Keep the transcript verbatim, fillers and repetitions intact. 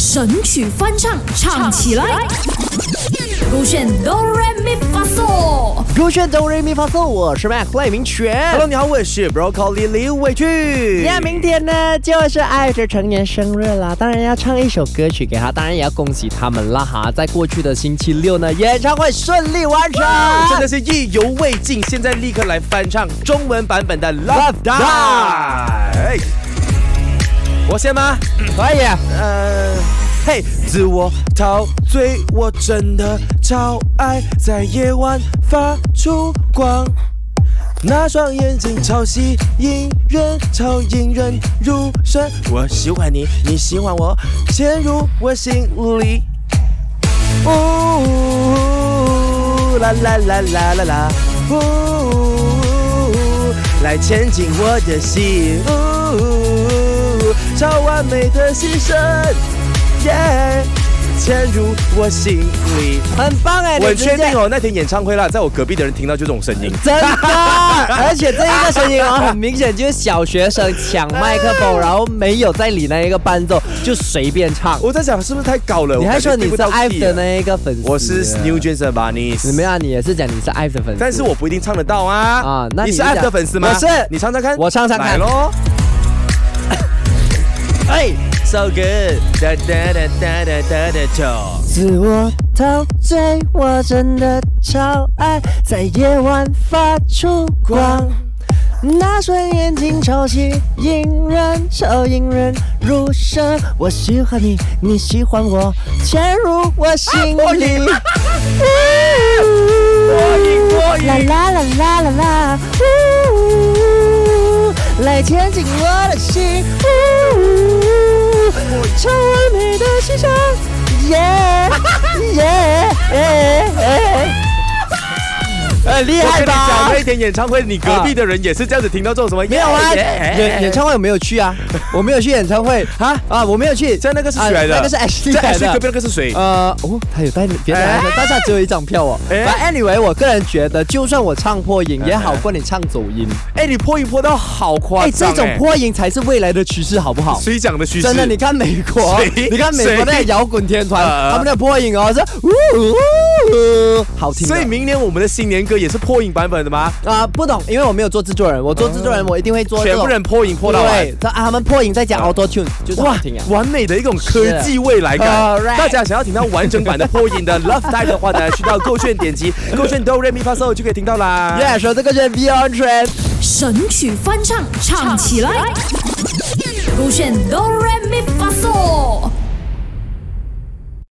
神曲翻唱，唱起来。勾选哆来咪发嗦， 勾选哆来咪发嗦，我是 Mac 赖明全。 Hello， 你好，我是 Broccoli 李伟俊。 呀，明天呢就是爱的成年生日啦，当然要唱一首歌曲给他，当然也要恭喜他们啦哈！在过去的星期六呢，演唱会顺利完成， 真的是意犹未尽。现在立刻来翻唱中文版本的《Love Die》。我先吗？ 可以。 呃。嘿，自我陶醉，我真的超爱在夜晚发出光。那双眼睛超吸引人，超引人入胜。我喜欢你，你喜欢我，潜入我心里。呜啦啦啦啦啦啦，呜，来牵进我的心，呜，超完美的牺牲。Yeah, 潜入我心里， 很棒哎！ 我确定哦，那天演唱会啦，在我隔壁的人听到就这种声音， 真的，而且这一个声音哦，很明显就是小学生抢麦克风，然后没有在理那一个伴奏，就随便唱。 我在想是不是太高了？ 你还说你是 I V E 的那一个粉丝？ 我是 New Jeans 的 Bunnies。 怎么样？你也是讲你是 I V E 的粉丝？ 但是我不一定唱得到啊。啊， 那你, 你是 I V E 的粉丝吗？ 我是。 你唱唱看。 我唱唱看。 来咯。哎。So good， 哒哒哒哒哒哒哒。 自我陶醉，我真的超爱在夜晚发出光。那双眼睛超吸引人，超引人入胜。我喜欢你，你喜欢我，潜入我心里。 破音，破音， 啦啦啦啦啦啦，来牵进我的心。超完美的牺牲，耶耶，很厉害吧？ 我跟你讲，那天演唱会，你隔壁的人也是这样子听到这种什么？ 没有啊，演演唱会我没有去啊，我没有去演唱会啊啊，我没有去。 在那个是谁来的？ 那个是 Ashley 来的。 在 Ashley 隔壁那个是谁？ 呃，哦，他有带别人来的，但是他只有一张票哦。But anyway， 我个人觉得，就算我唱破音，也好过你唱走音。 哎，你破音破到好夸张！ 哎，这种破音才是未来的趋势，好不好？ 谁讲的趋势？ 真的，你看美国，你看美国那摇滚天团，他们的破音哦是呜呜，好听。 所以明年我们的新年歌也是破音版本的吗？ 啊，不懂，因为我没有做制作人，我做制作人我一定会做全部人破音破到完。 对，他们破音再加 Auto Tune， 就是好听啊， 完美的一种科技未来感。大家想要听到完整版的破音的 Love Die 的话呢，去到勾选点击勾选哆来咪发嗦就可以听到啦。 Yeah， 说这个是 Beyond Trend 神曲翻唱，唱起来。勾选哆来咪发嗦。